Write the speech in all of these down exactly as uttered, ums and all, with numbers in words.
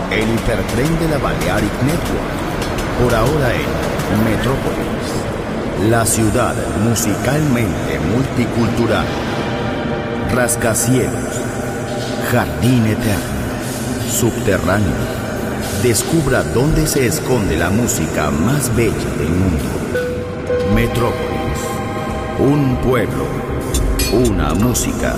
el hipertren de la Balearic Network. Por ahora en Metrópolis, la ciudad musicalmente multicultural. Rascacielos, jardín eterno, subterráneo. Descubra dónde se esconde la música más bella del mundo. Metrópolis, un pueblo, una música.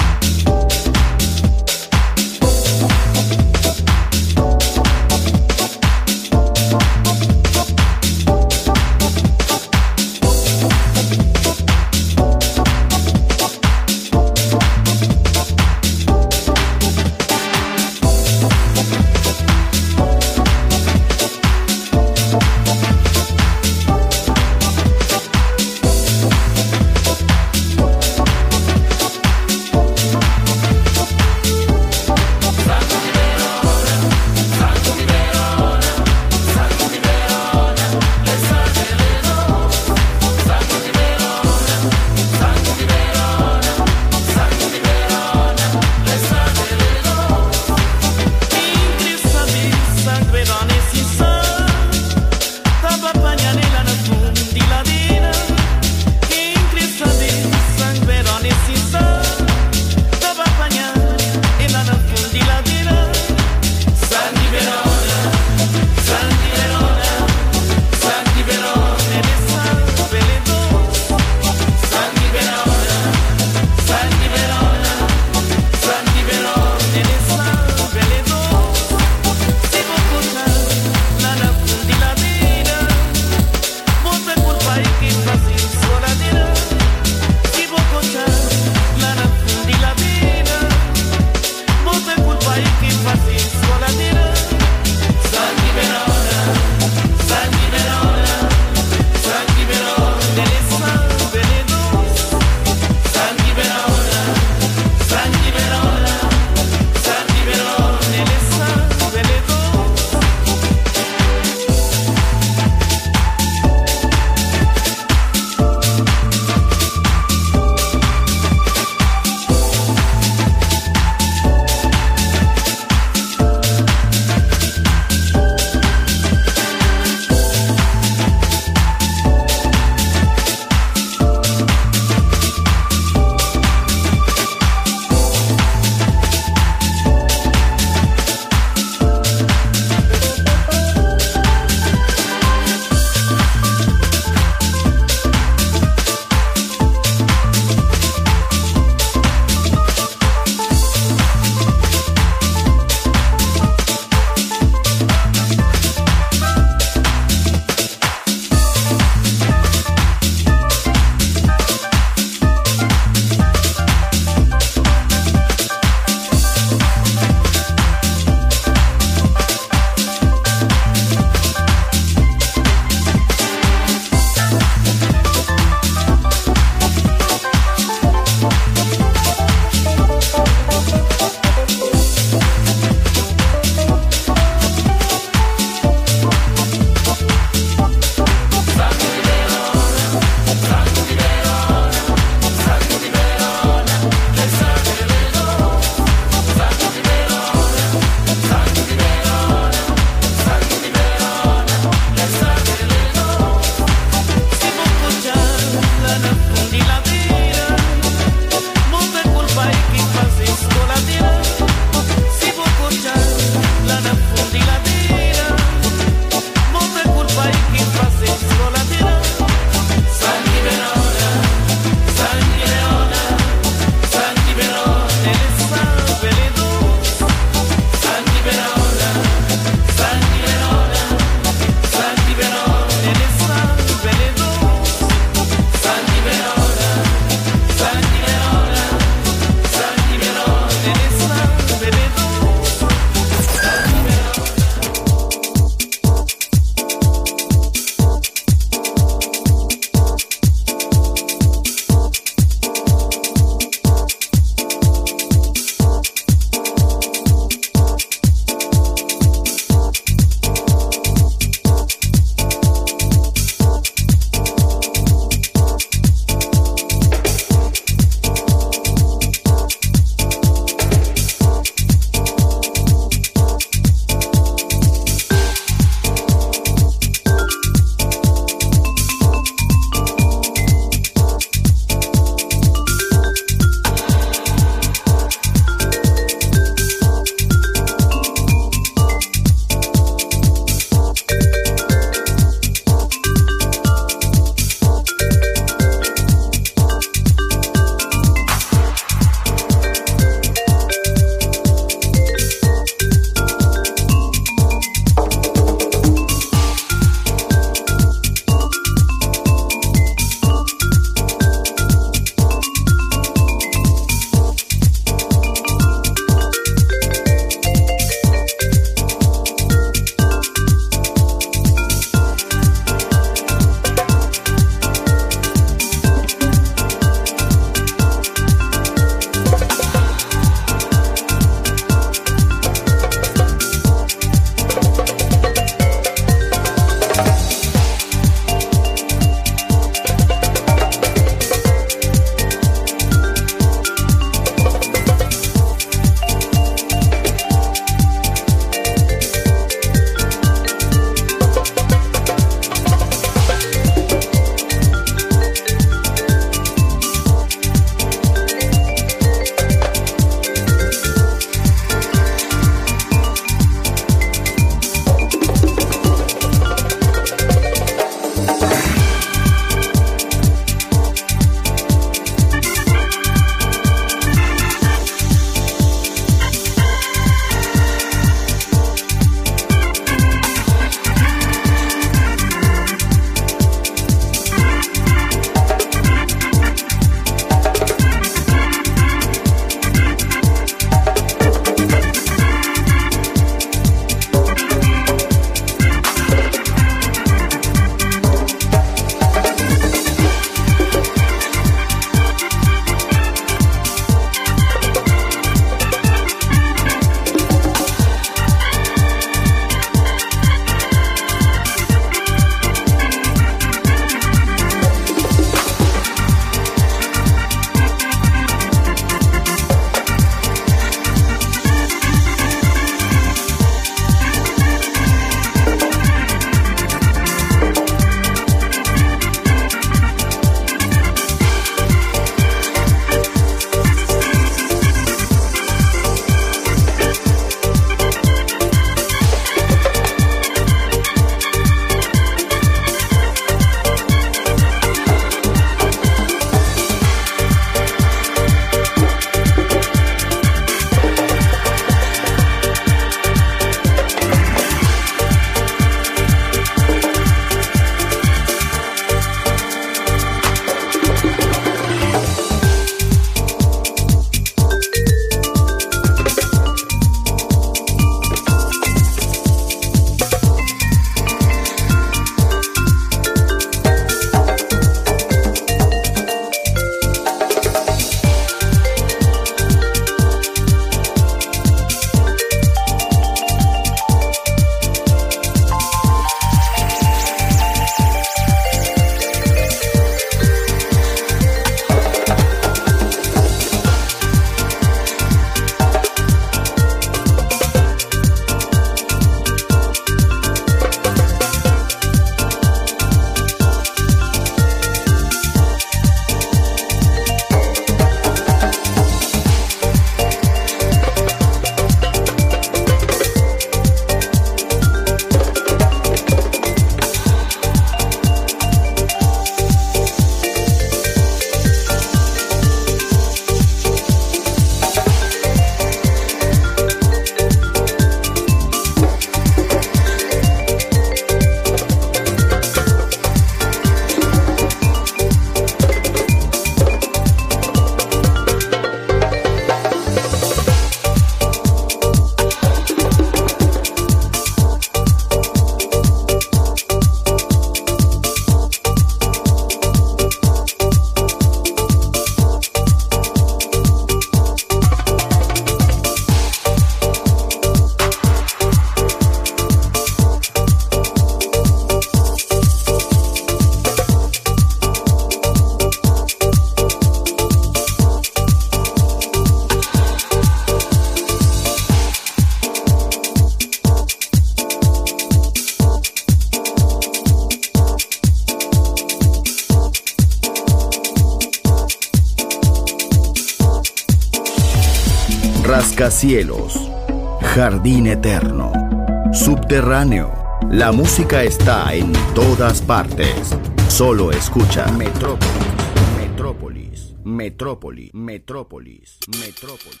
rascacielos, jardín eterno, subterráneo. La música está en todas partes. Solo escucha Metrópolis, Metrópolis, Metrópolis, Metrópolis, Metrópolis.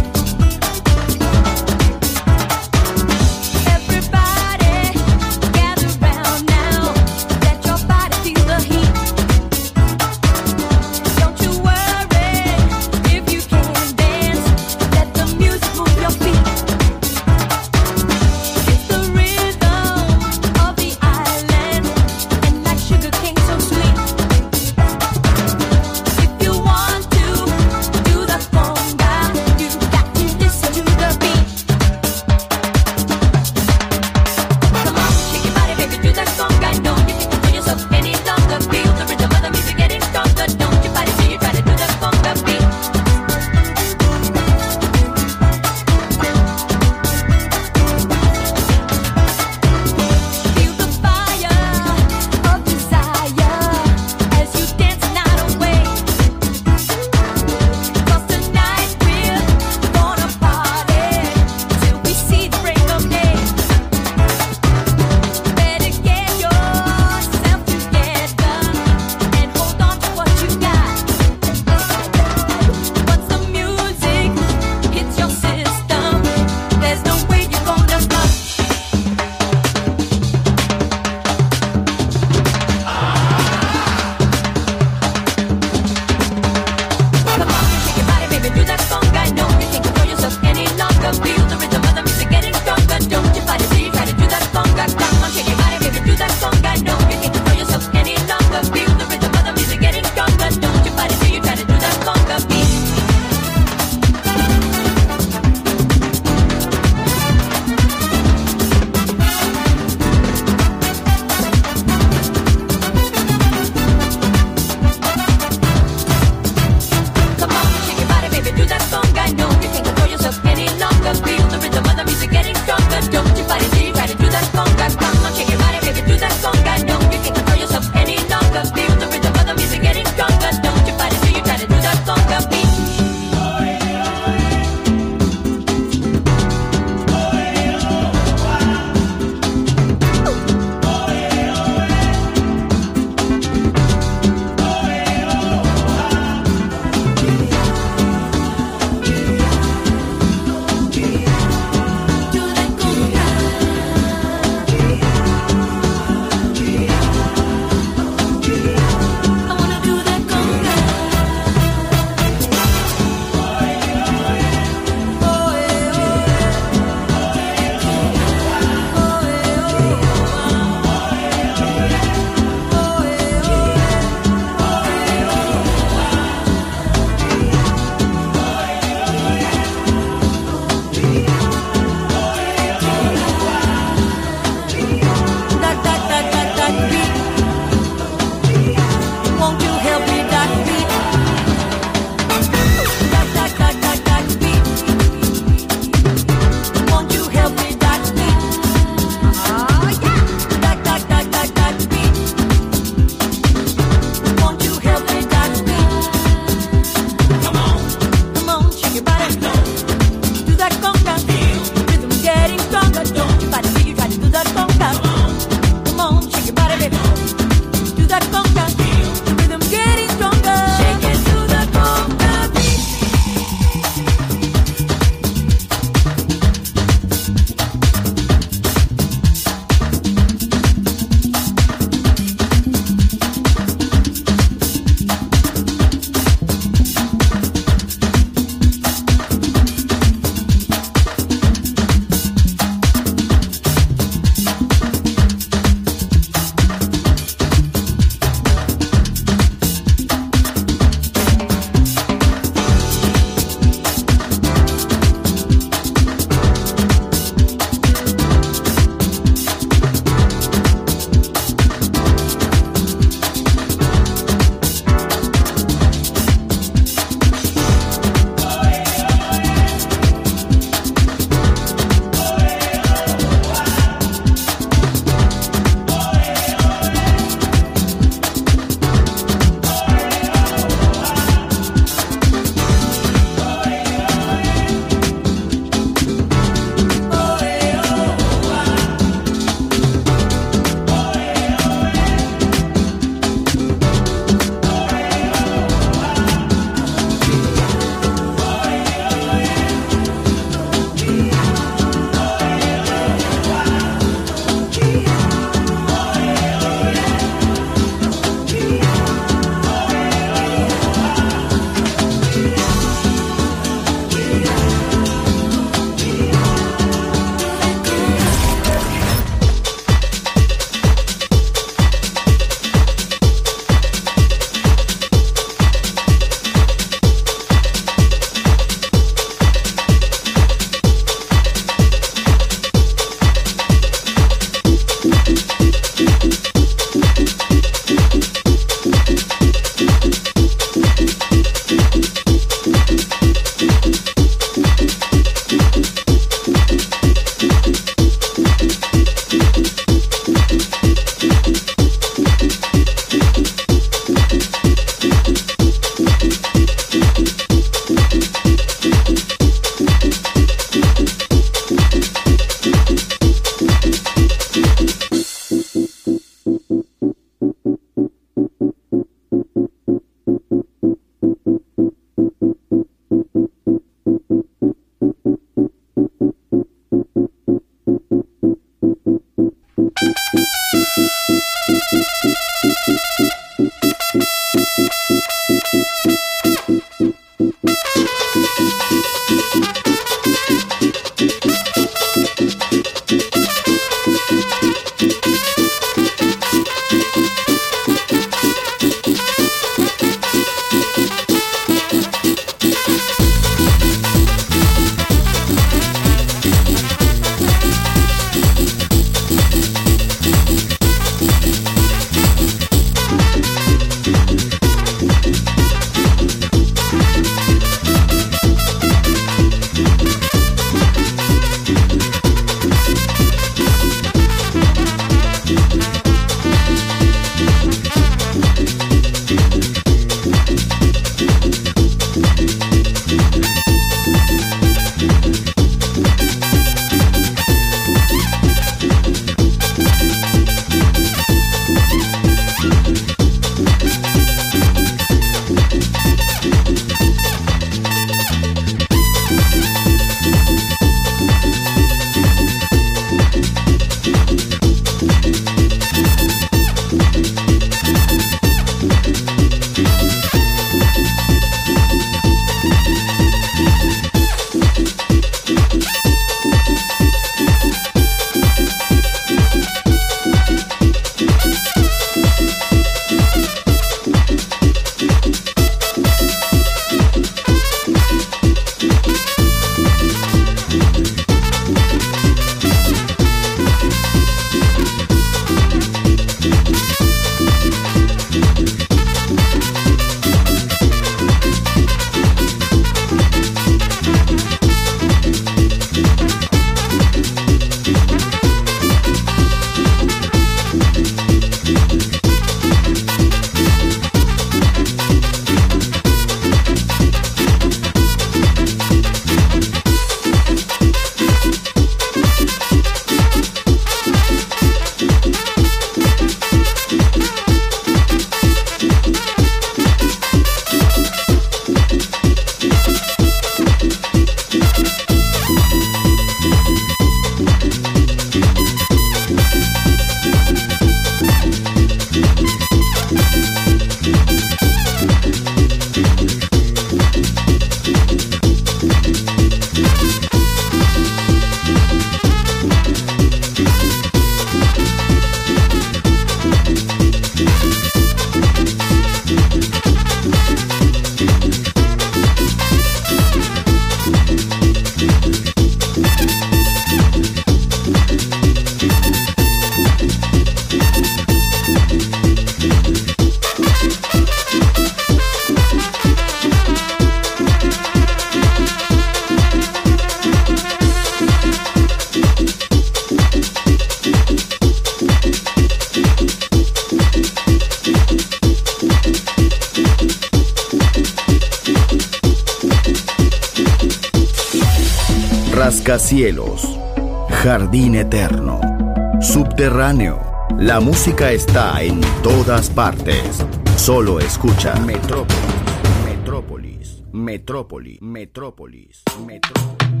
Rascacielos, jardín eterno, subterráneo. La música está en todas partes. Solo escucha Metrópolis, Metrópolis, Metrópolis, Metrópolis, Metrópolis.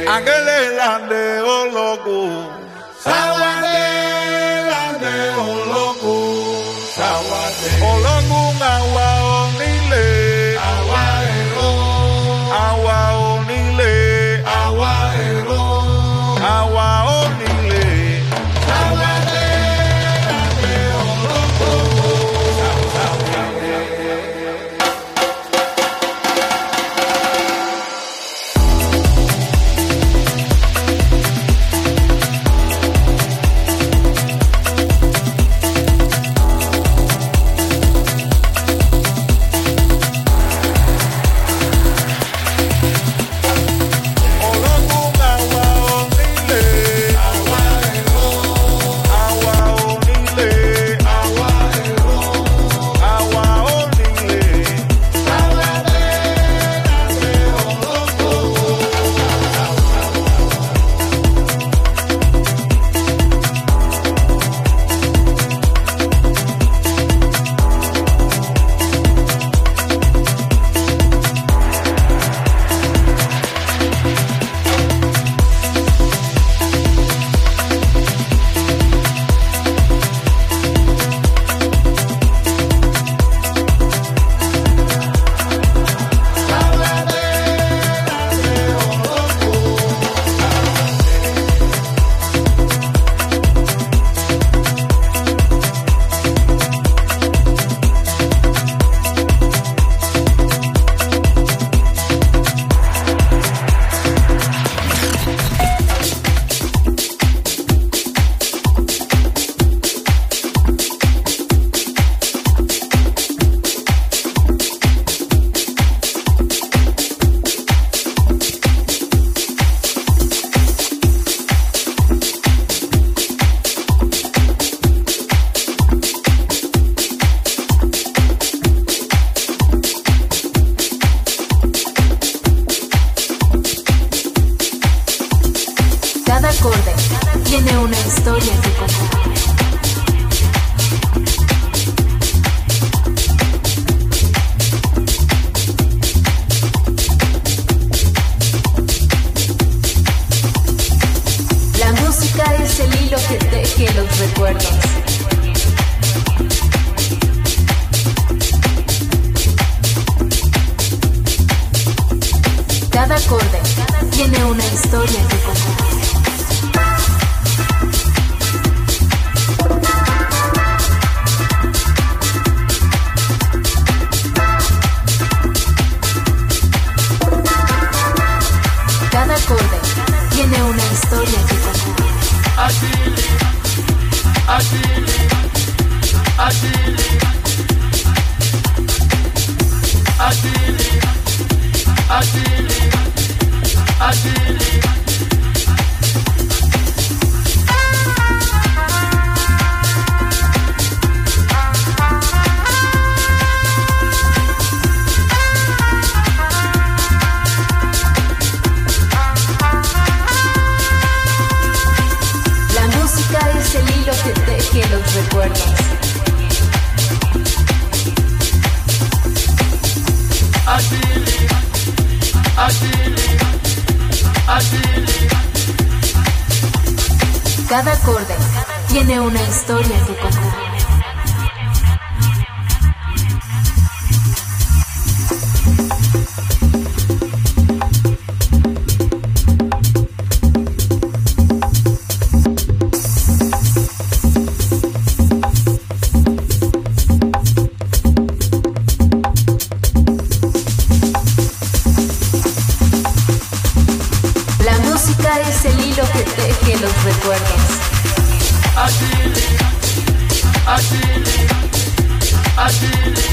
Angele lande o loco, sawade lande o loco, sawade. Olongu ngawa onile, awa ero, awa onile, awa ero, awa onile, sawade lande o loco, sawade. Cada acorde tiene una historia que contar. La música es el hilo que teje los recuerdos. Agili, agili, agili,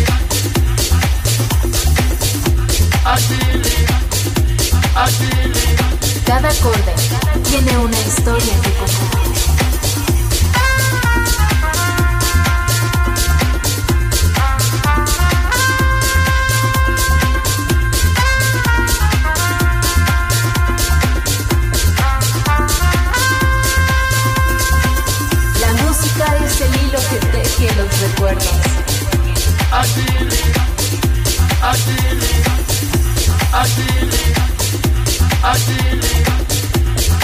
agili, agili. Cada acorde tiene una historia que contar. Es el hilo que teje los recuerdos. Agili, agili, agili, agili,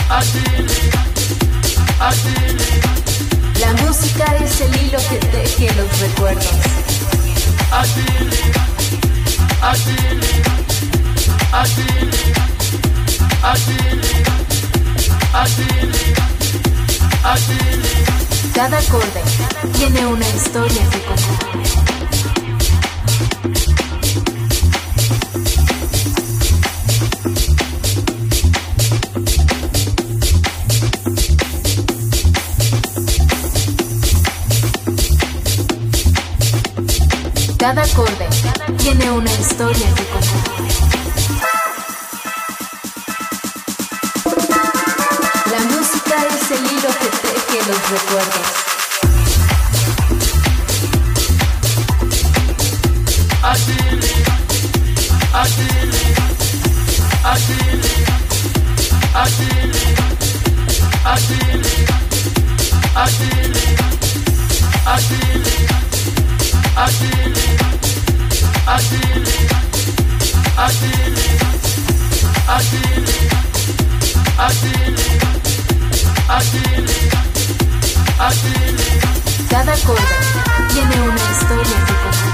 Achilles, Achilles. La música es el hilo que teje los recuerdos. Achilles, Achilles, Achilles, Achilles, Achilles, Achilles. Cada acorde tiene una historia que contar. Cada acorde tiene una historia que contar. La música es el hilo que teje los recuerdos. Achilles, Achilles, Achilles, Achilles, Achilles, Achilles, Achilles, Achilles, Achilles, Achilles, Achilles, Achilles, Achilles, Achilles. Cada acorde tiene una historia que contar.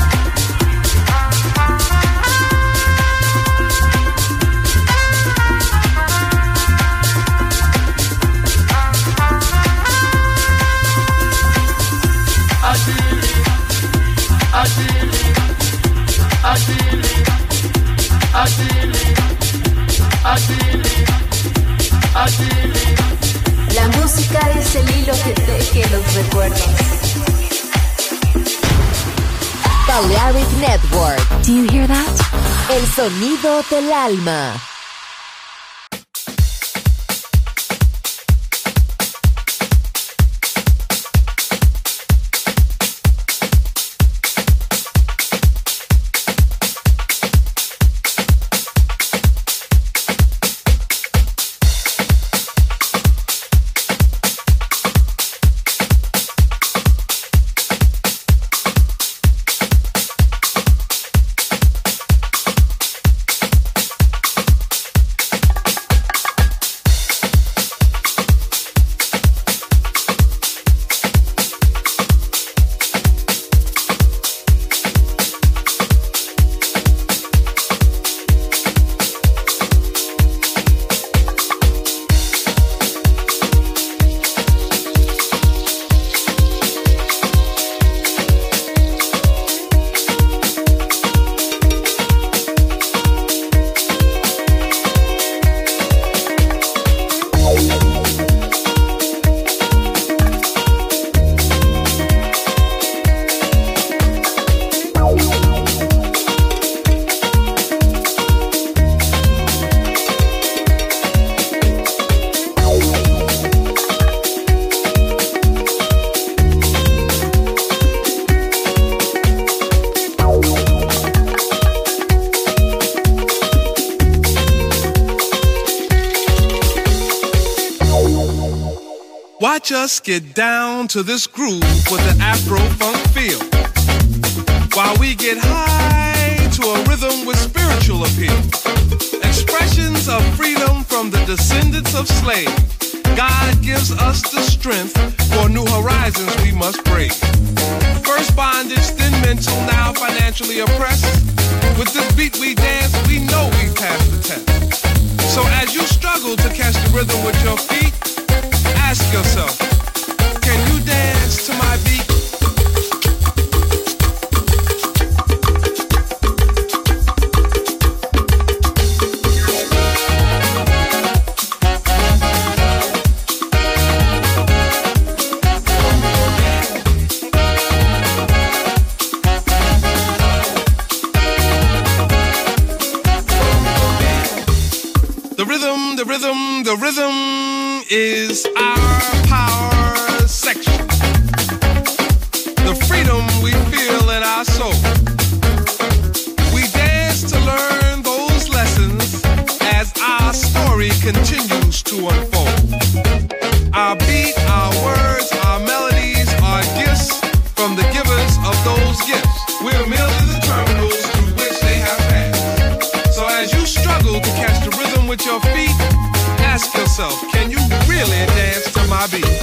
Achilles, Achilles, Achilles, Achilles, Achilles, Achilles. La música es el hilo que teje los recuerdos. Balearic Network. Do you hear that? El sonido del alma. Watch us get down to this groove with the Afro-funk feel, while we get high to a rhythm with spiritual appeal. Expressions of freedom from the descendants of slaves. God gives us the strength for new horizons we must brave. First bondage, then mental, now financially oppressed. With this beat we dance, we know we passed the test. So as you struggle to catch the rhythm with your feet, ask yourself, can you dance to my beat? The rhythm, the rhythm, the rhythm is our power section. The freedom we feel in our soul. We dance to learn those lessons as our story continues to unfold. Our beat, our words, our melodies are gifts from the givers of those gifts. We're merely the terminals through which they have passed. So as you struggle to catch the rhythm with your feet, Ask yourself, can you really dance to my beat?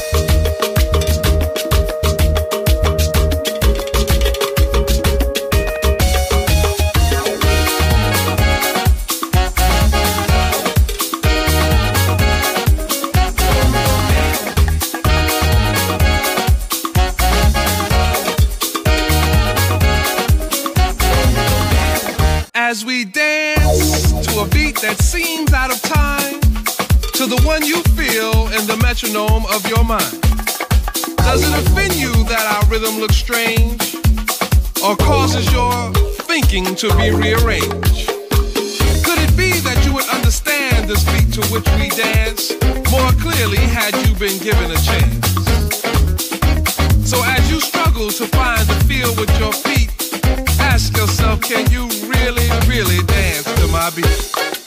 As we dance to a beat that seems out of time, to the one you feel in the metronome of your mind. Does it offend you that our rhythm looks strange, or causes your thinking to be rearranged? Could it be that you would understand this beat to which we dance more clearly had you been given a chance? So as you struggle to find the feel with your feet, ask yourself, can you really, really dance to my beat?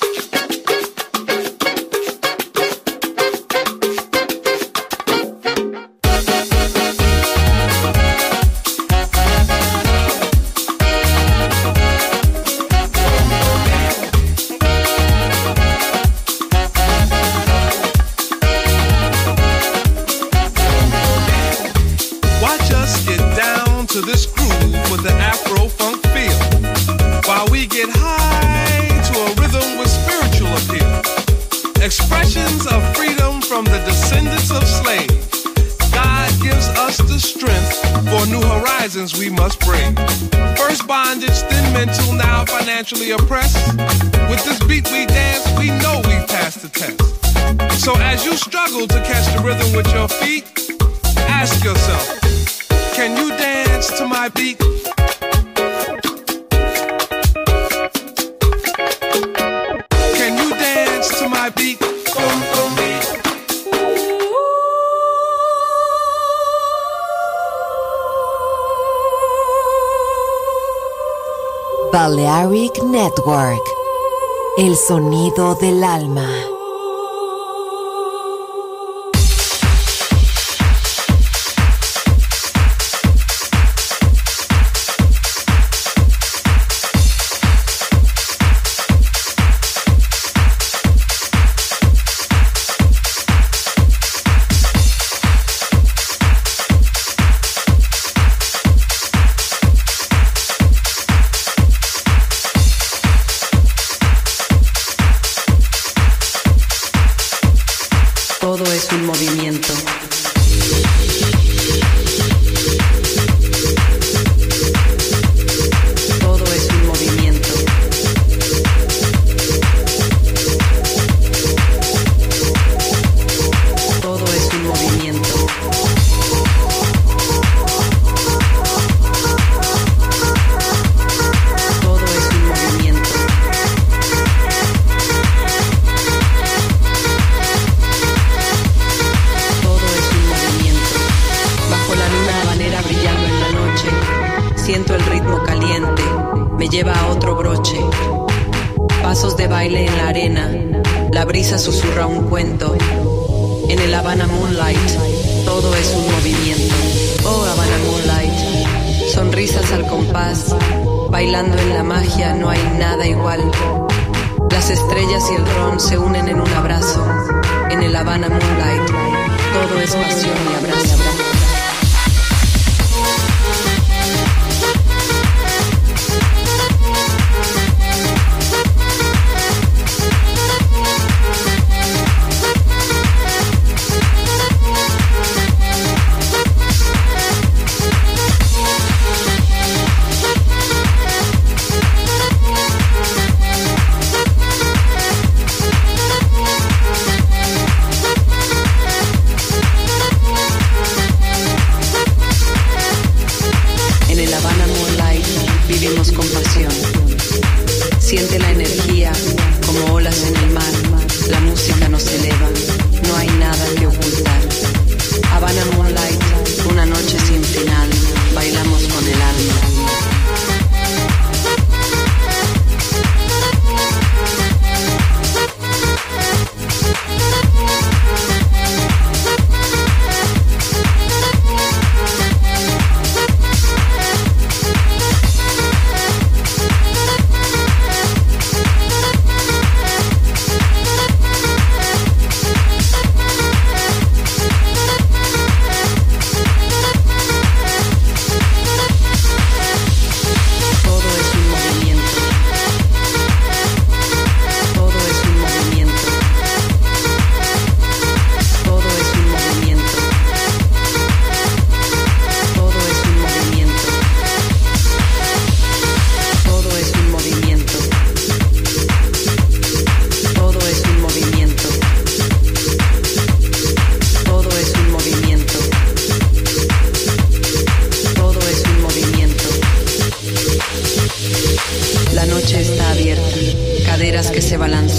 Watch us get down to this groove with the Afro funk feel, while we get high to a rhythm with spiritual appeal. Expressions of freedom from the descendants of slaves. God gives us the strength for new horizons we must bring. First bondage, then mental, now financially oppressed. With this beat we dance, we know we passed the test. So as you struggle to catch the rhythm with your feet, ask yourself, can you dance to my beat? Can you dance to my beat? Boom, boom, beat. Balearic Network, el sonido del alma. Todo es un movimiento. Todo es un movimiento. Todo es un movimiento. Todo es un movimiento. Siento el ritmo caliente, me lleva a otro broche. Pasos de baile en la arena, la brisa susurra un cuento. En el Havana Moonlight, todo es un movimiento. Oh, Havana Moonlight, sonrisas al compás, bailando en la magia no hay nada igual. Las estrellas y el ron se unen en un abrazo. En el Havana Moonlight, todo es pasión y abrazo.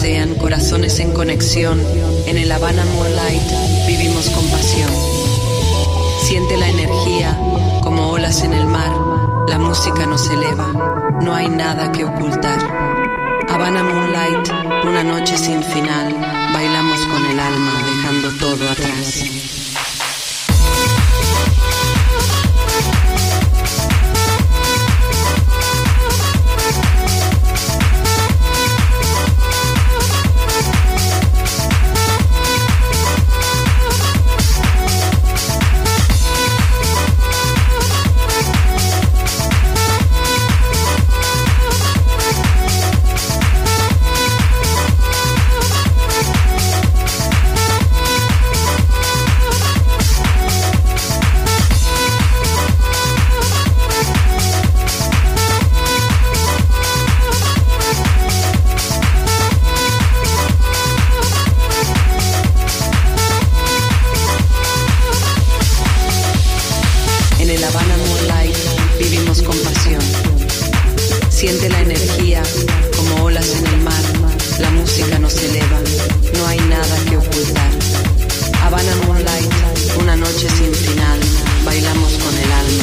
balbucean corazones en conexión. En el Havana Moonlight vivimos con pasión. Siente la energía como olas en el mar. La música nos eleva, no hay nada que ocultar. Havana Moonlight, una noche sin final. Bailamos con el alma, dejando todo atrás. Siente la energía como olas en el mar. La música nos eleva, no hay nada que ocultar. Havana Moonlight, una noche sin final. Bailamos con el alma.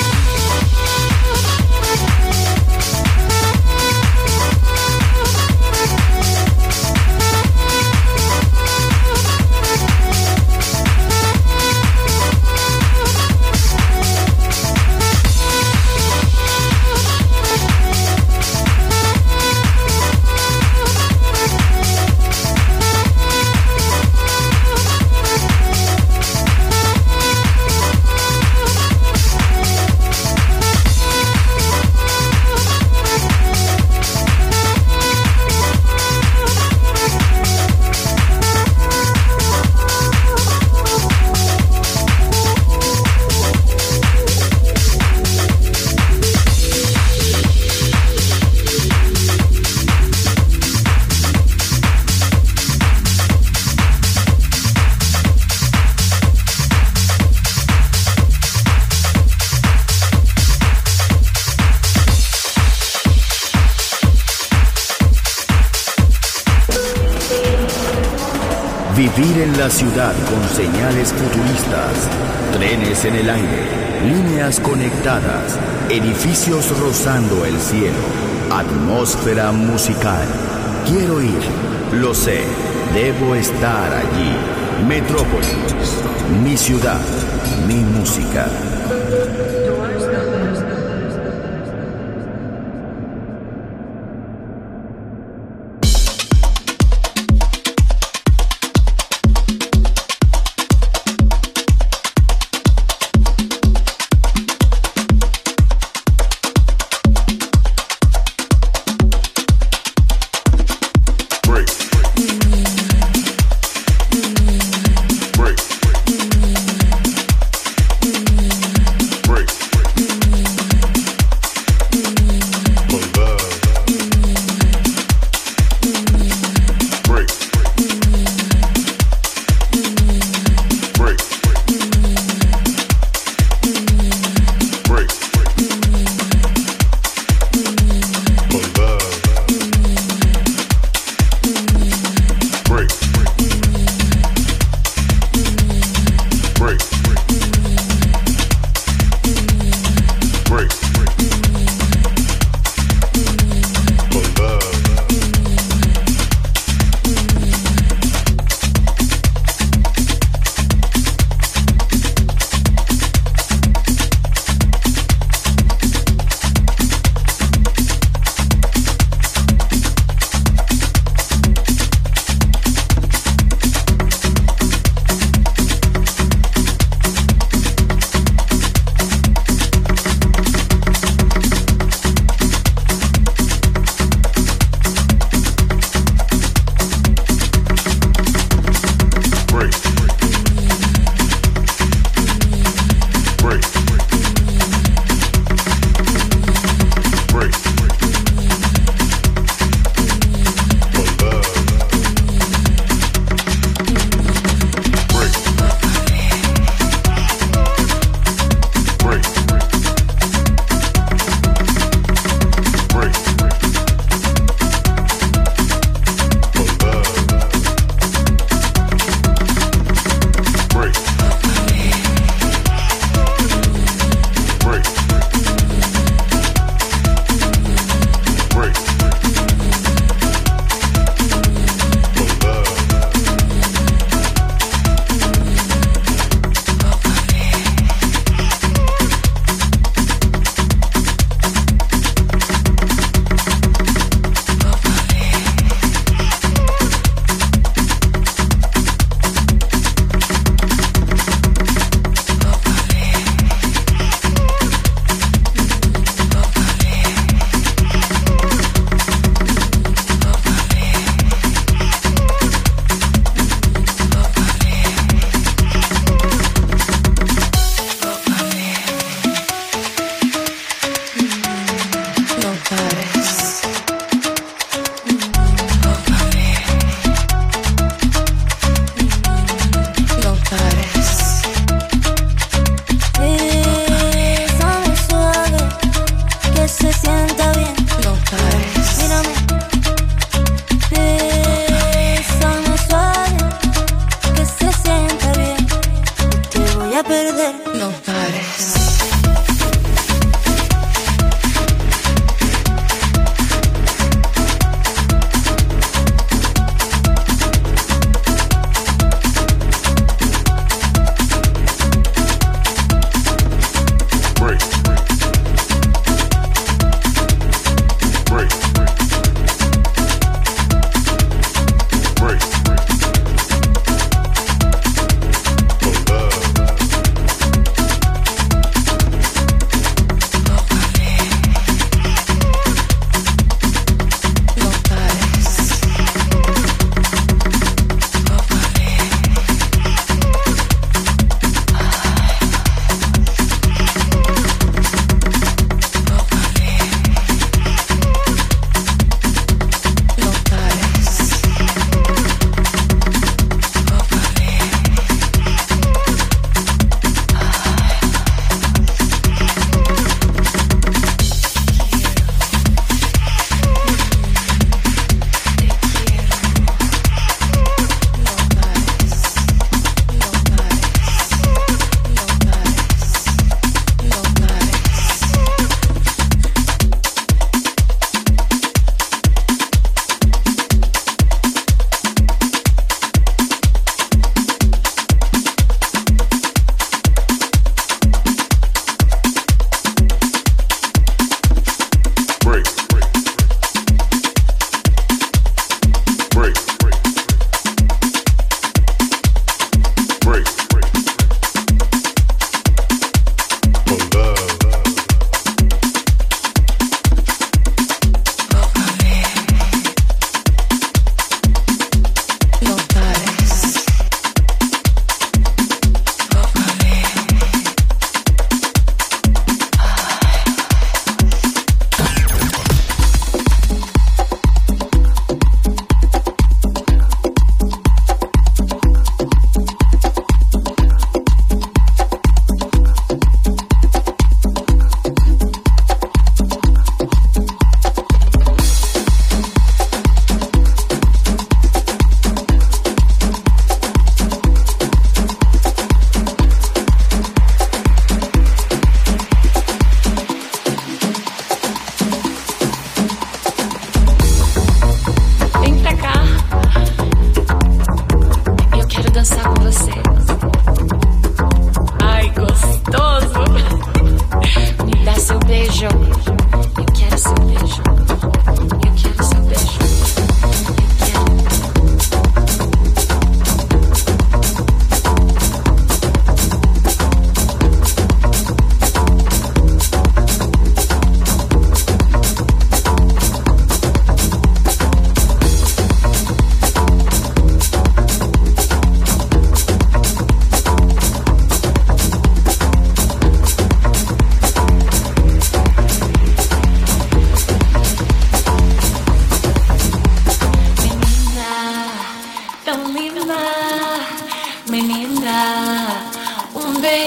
Vivir en la ciudad con señales futuristas, trenes en el aire, líneas conectadas, edificios rozando el cielo, atmósfera musical. Quiero ir, lo sé, debo estar allí. Metrópolis, mi ciudad, mi música. Break.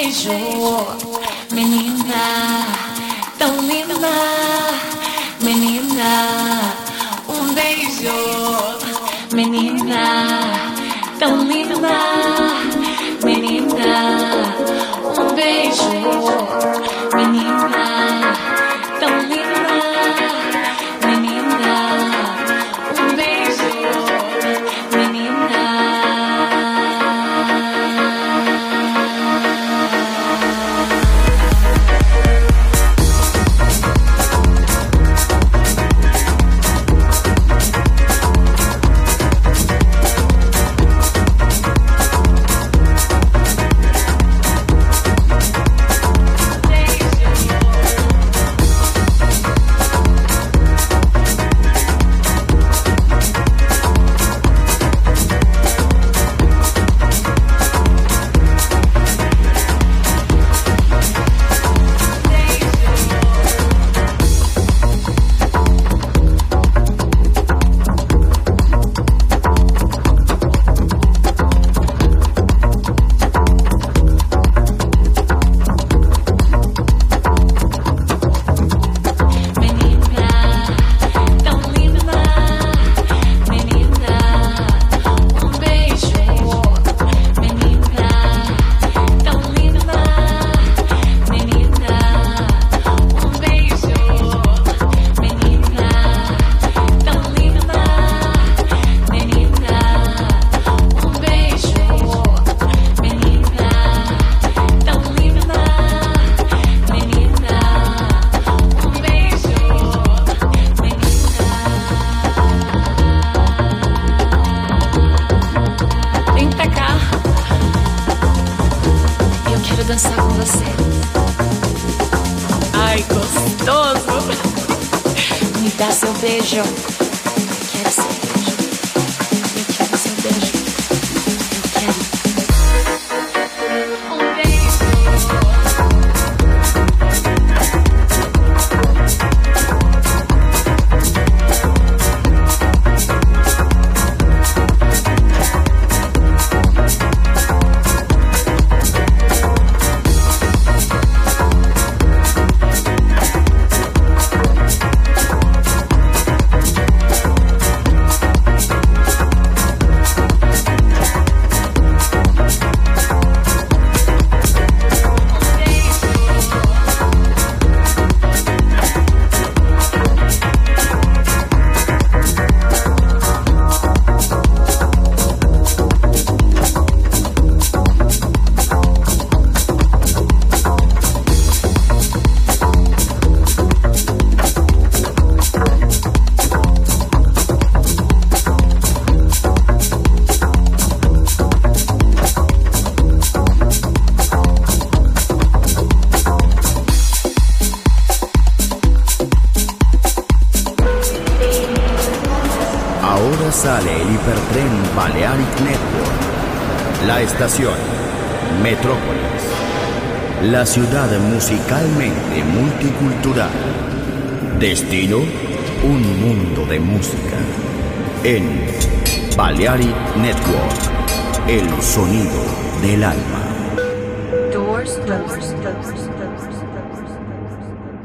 beijo, menina, tão linda, menina, um beijo, menina, tão linda, menina, um beijo, menina, tão linda, menina, um beijo, menina. Dançar com você. Ai, gostoso. Me dá seu beijo. Quero seu beijo. Eu quero seu beijo. Eu quero. Um Ahora sale el hipertren Balearic Network. La estación Metrópolis. La ciudad musicalmente multicultural. Destino, un mundo de música. En Balearic Network, el sonido del alma. Doors, doors, doors.